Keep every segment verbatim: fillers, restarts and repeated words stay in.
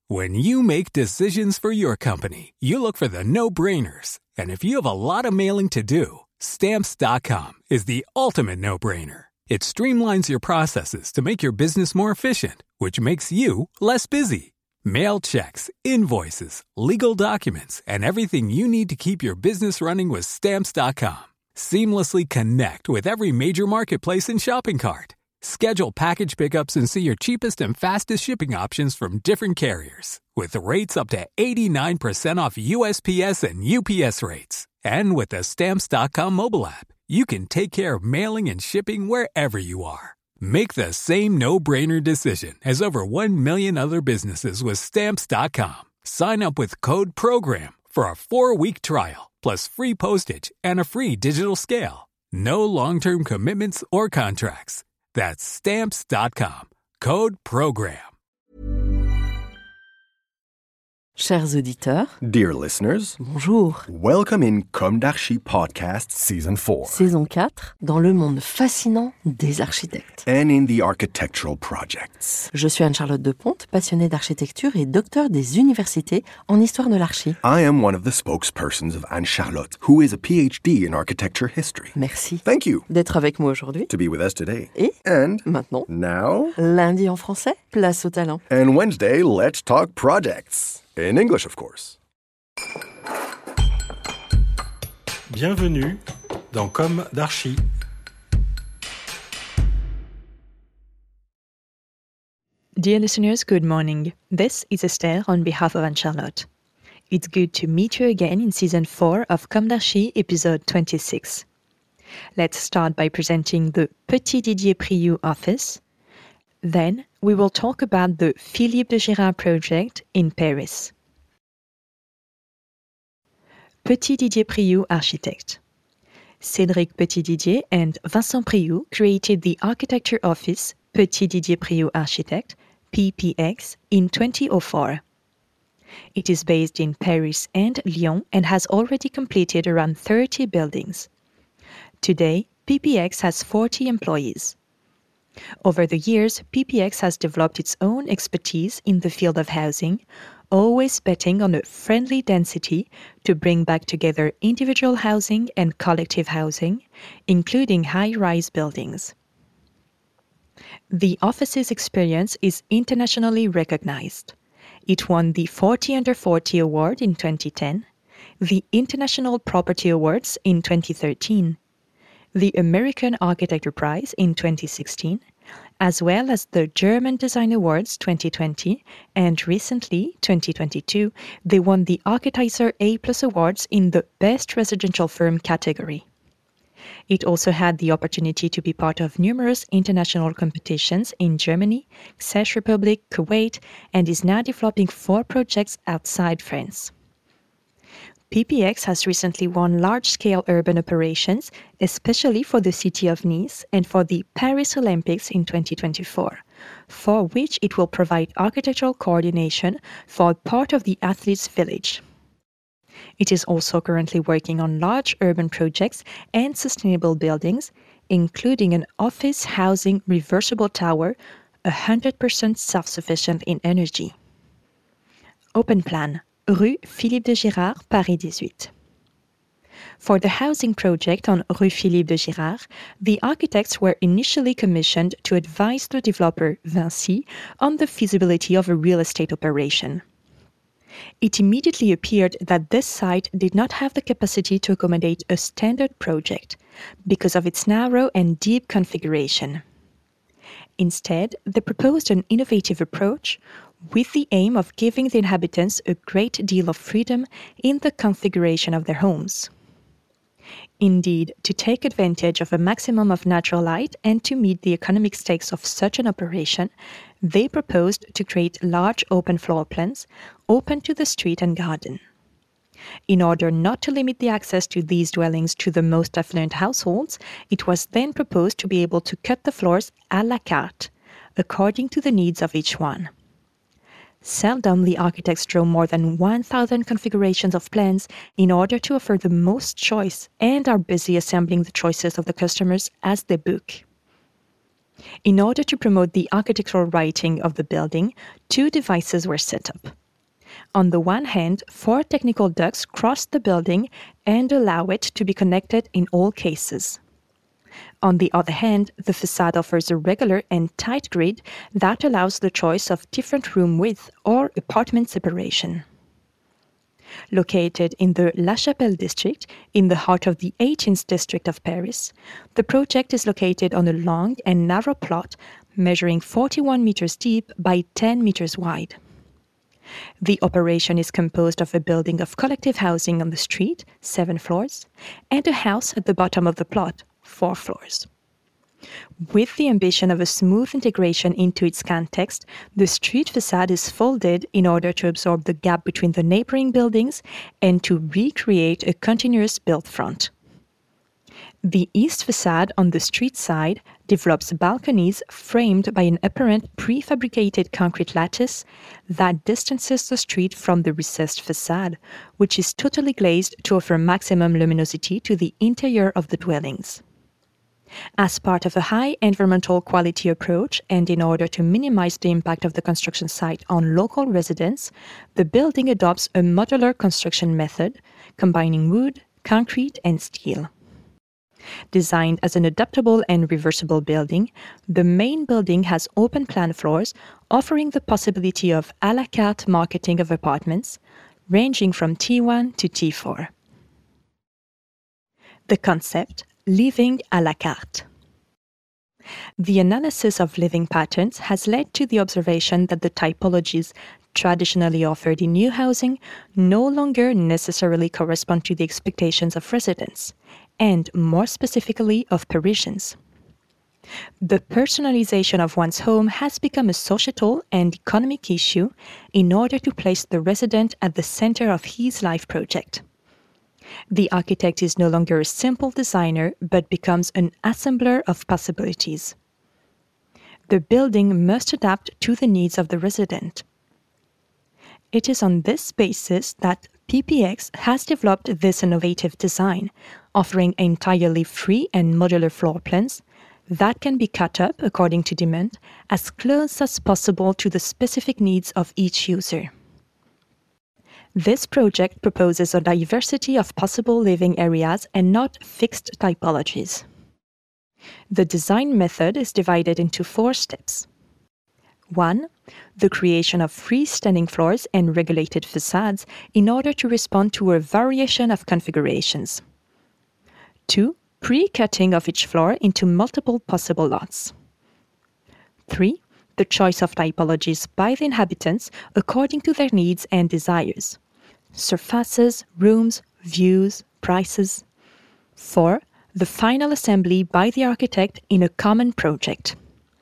When you make decisions for your company, you look for the no-brainers. And if you have a lot of mailing to do, Stamps dot com is the ultimate no-brainer. It streamlines your processes to make your business more efficient, which makes you less busy. Mail checks, invoices, legal documents, and everything you need to keep your business running with Stamps dot com. Seamlessly connect with every major marketplace and shopping cart. Schedule package pickups and see your cheapest and fastest shipping options from different carriers, with rates up to eighty-nine percent off U S P S and U P S rates. And with the Stamps dot com mobile app, you can take care of mailing and shipping wherever you are. Make the same no-brainer decision as over one million other businesses with Stamps dot com. Sign up with code PROGRAM for a four-week trial, plus free postage and a free digital scale. No long-term commitments or contracts. That's Stamps dot com. Code PROGRAM. Chers auditeurs, dear listeners, bonjour. Welcome in Comme d'Archi Podcast Season four. Saison quatre, dans le monde fascinant des architectes. And in the architectural projects. Je suis Anne-Charlotte Deponte, passionnée d'architecture et docteur des universités en histoire de l'archi. I am one of the spokespersons of Anne-Charlotte, who is a P H D in architecture history. Merci. Thank you. D'être avec moi aujourd'hui. To be with us today. Et And maintenant, now, lundi en français, place au talent. And Wednesday, let's talk projects. In English, of course. Bienvenue dans Comme d'Archi. Dear listeners, good morning. This is Esther on behalf of Anne-Charlotte. It's good to meet you again in Season four of Comme d'Archi, Episode twenty-six. Let's start by presenting the Petit Didier Priou office. Then, we will talk about the Philippe de Girard project in Paris. Petit Didier Priou architect. Cédric Petit Didier and Vincent Priou created the architecture office Petit Didier Priou Architect, P P X, in twenty oh four. It is based in Paris and Lyon and has already completed around thirty buildings. Today, P P X has forty employees. Over the years, P P X has developed its own expertise in the field of housing, always betting on a friendly density to bring back together individual housing and collective housing, including high-rise buildings. The office's experience is internationally recognized. It won the forty under forty Award in twenty ten, the International Property Awards in twenty thirteen, the American Architecture Prize in twenty sixteen, as well as the German Design Awards twenty twenty, and recently, twenty twenty-two, they won the Architizer A plus Awards in the Best Residential Firm category. It also had the opportunity to be part of numerous international competitions in Germany, Czech Republic, Kuwait, and is now developing four projects outside France. P P X has recently won large-scale urban operations, especially for the city of Nice and for the Paris Olympics in twenty twenty-four, for which it will provide architectural coordination for part of the athletes' village. It is also currently working on large urban projects and sustainable buildings, including an office housing reversible tower, one hundred percent self-sufficient in energy. Open plan. Rue Philippe de Girard, Paris eighteen. For the housing project on Rue Philippe de Girard, the architects were initially commissioned to advise the developer, Vinci, on the feasibility of a real estate operation. It immediately appeared that this site did not have the capacity to accommodate a standard project because of its narrow and deep configuration. Instead, they proposed an innovative approach with the aim of giving the inhabitants a great deal of freedom in the configuration of their homes. Indeed, to take advantage of a maximum of natural light and to meet the economic stakes of such an operation, they proposed to create large open floor plans open to the street and garden. In order not to limit the access to these dwellings to the most affluent households, it was then proposed to be able to cut the floors à la carte, according to the needs of each one. Seldom the architects draw more than one thousand configurations of plans in order to offer the most choice and are busy assembling the choices of the customers as they book. In order to promote the architectural writing of the building, two devices were set up. On the one hand, four technical ducts cross the building and allow it to be connected in all cases. On the other hand, the facade offers a regular and tight grid that allows the choice of different room width or apartment separation. Located in the La Chapelle district, in the heart of the eighteenth district of Paris, the project is located on a long and narrow plot measuring forty-one meters deep by ten meters wide. The operation is composed of a building of collective housing on the street, seven floors, and a house at the bottom of the plot, four floors. With the ambition of a smooth integration into its context, the street facade is folded in order to absorb the gap between the neighboring buildings and to recreate a continuous built front. The east facade on the street side develops balconies framed by an apparent prefabricated concrete lattice that distances the street from the recessed facade, which is totally glazed to offer maximum luminosity to the interior of the dwellings. As part of a high environmental quality approach and in order to minimize the impact of the construction site on local residents, the building adopts a modular construction method combining wood, concrete, and steel. Designed as an adaptable and reversible building, the main building has open plan floors offering the possibility of à la carte marketing of apartments, ranging from T one to T four. The concept, living à la carte. The analysis of living patterns has led to the observation that the typologies traditionally offered in new housing no longer necessarily correspond to the expectations of residents, and more specifically of Parisians. The personalization of one's home has become a societal and economic issue in order to place the resident at the center of his life project. The architect is no longer a simple designer, but becomes an assembler of possibilities. The building must adapt to the needs of the resident. It is on this basis that P P X has developed this innovative design, offering entirely free and modular floor plans that can be cut up according to demand as close as possible to the specific needs of each user. This project proposes a diversity of possible living areas and not fixed typologies. The design method is divided into four steps. One, the creation of freestanding floors and regulated facades in order to respond to a variation of configurations. Two, pre-cutting of each floor into multiple possible lots. Three, the choice of typologies by the inhabitants according to their needs and desires. Surfaces, rooms, views, prices. Four, the final assembly by the architect in a common project.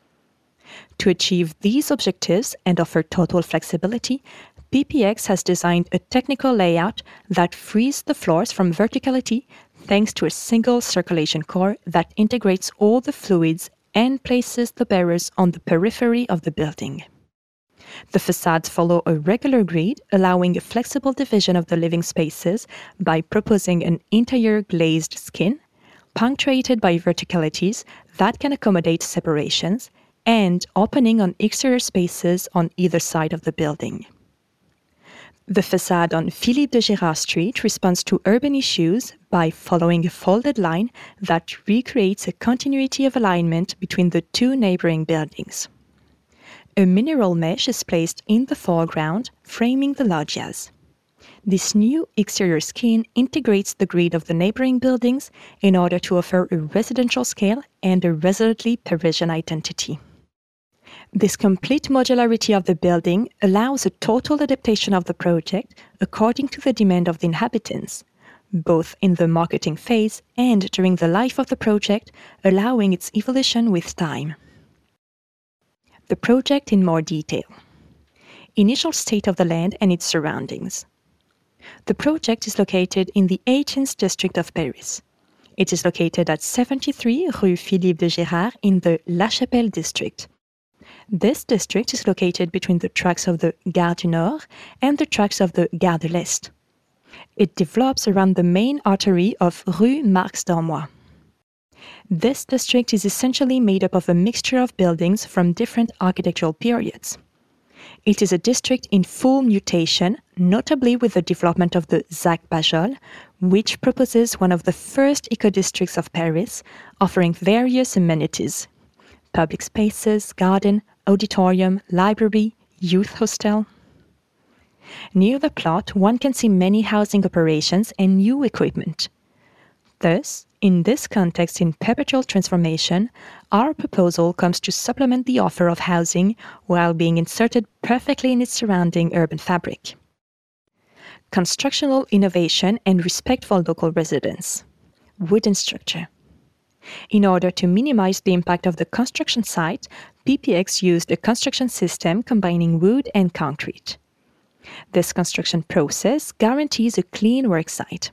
To achieve these objectives and offer total flexibility, P P X has designed a technical layout that frees the floors from verticality thanks to a single circulation core that integrates all the fluids and places the bearers on the periphery of the building. The facades follow a regular grid, allowing a flexible division of the living spaces by proposing an interior glazed skin, punctuated by verticalities that can accommodate separations, and opening on exterior spaces on either side of the building. The facade on Philippe de Gérard Street responds to urban issues by following a folded line that recreates a continuity of alignment between the two neighboring buildings. A mineral mesh is placed in the foreground, framing the loggias. This new exterior skin integrates the grid of the neighboring buildings in order to offer a residential scale and a resolutely Parisian identity. This complete modularity of the building allows a total adaptation of the project according to the demand of the inhabitants, both in the marketing phase and during the life of the project, allowing its evolution with time. The project in more detail. Initial state of the land and its surroundings. The project is located in the eighteenth district of Paris. It is located at seventy-three Rue Philippe de Gérard in the La Chapelle district. This district is located between the tracks of the Gare du Nord and the tracks of the Gare de l'Est. It develops around the main artery of Rue Marx d'Ormois. This district is essentially made up of a mixture of buildings from different architectural periods. It is a district in full mutation, notably with the development of the ZAC Pajol, which proposes one of the first eco-districts of Paris, offering various amenities: public spaces, garden, auditorium, library, youth hostel. Near the plot, one can see many housing operations and new equipment. Thus, in this context in perpetual transformation, our proposal comes to supplement the offer of housing while being inserted perfectly in its surrounding urban fabric. Constructional innovation and respect for local residents. Wooden structure. In order to minimize the impact of the construction site, P P X used a construction system combining wood and concrete. This construction process guarantees a clean work site.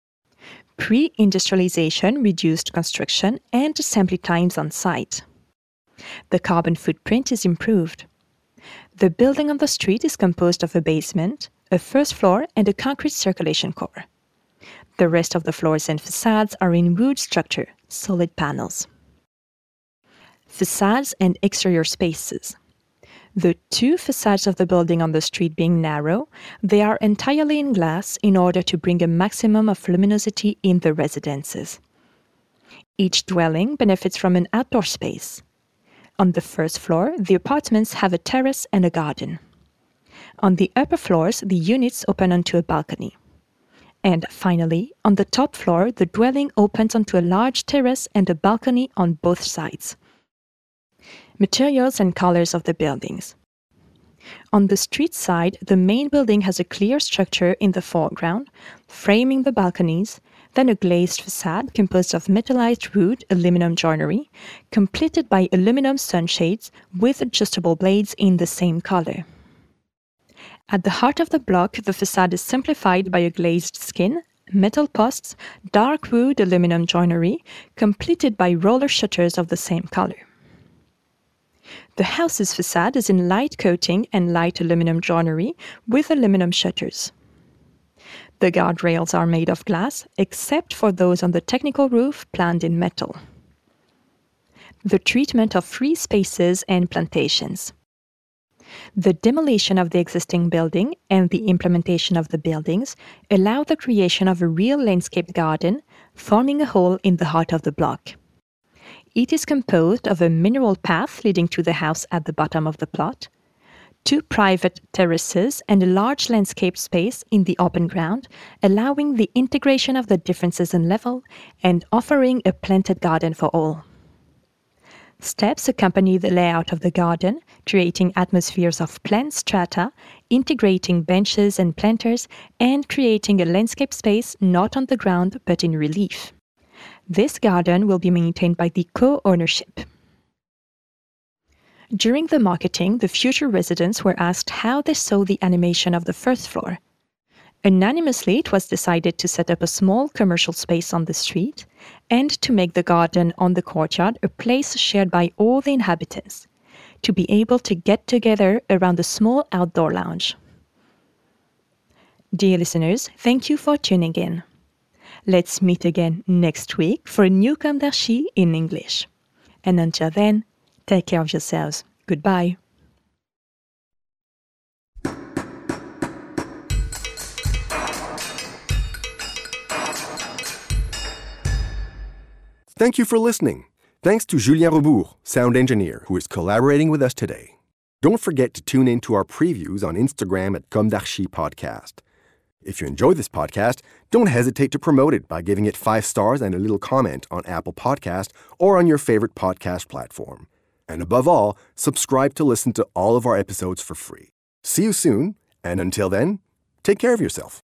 Pre-industrialization reduced construction and assembly times on site. The carbon footprint is improved. The building on the street is composed of a basement, a first floor, and a concrete circulation core. The rest of the floors and facades are in wood structure, solid panels. Facades and exterior spaces. The two facades of the building on the street being narrow, they are entirely in glass in order to bring a maximum of luminosity in the residences. Each dwelling benefits from an outdoor space. On the first floor, the apartments have a terrace and a garden. On the upper floors, the units open onto a balcony. And finally, on the top floor, the dwelling opens onto a large terrace and a balcony on both sides. Materials and colors of the buildings. On the street side, the main building has a clear structure in the foreground, framing the balconies, then a glazed facade composed of metallized wood aluminum joinery, completed by aluminum sunshades with adjustable blades in the same color. At the heart of the block, the facade is simplified by a glazed skin, metal posts, dark wood aluminum joinery, completed by roller shutters of the same color. The house's facade is in light coating and light aluminum joinery with aluminum shutters. The guardrails are made of glass, except for those on the technical roof planned in metal. The treatment of free spaces and plantations. The demolition of the existing building and the implementation of the buildings allow the creation of a real landscaped garden, forming a whole in the heart of the block. It is composed of a mineral path leading to the house at the bottom of the plot, two private terraces, and a large landscape space in the open ground, allowing the integration of the differences in level and offering a planted garden for all. Steps accompany the layout of the garden, creating atmospheres of plant strata, integrating benches and planters, and creating a landscape space not on the ground but in relief. This garden will be maintained by the co-ownership. During the marketing, the future residents were asked how they saw the animation of the first floor. Unanimously, it was decided to set up a small commercial space on the street and to make the garden on the courtyard a place shared by all the inhabitants, to be able to get together around a small outdoor lounge. Dear listeners, thank you for tuning in. Let's meet again next week for a new Comme d'Archi in English. And until then, take care of yourselves. Goodbye. Thank you for listening. Thanks to Julien Rebourg, sound engineer, who is collaborating with us today. Don't forget to tune in to our previews on Instagram at Comme d'Archi Podcast. If you enjoy this podcast, don't hesitate to promote it by giving it five stars and a little comment on Apple Podcast or on your favorite podcast platform. And above all, subscribe to listen to all of our episodes for free. See you soon, and until then, take care of yourself.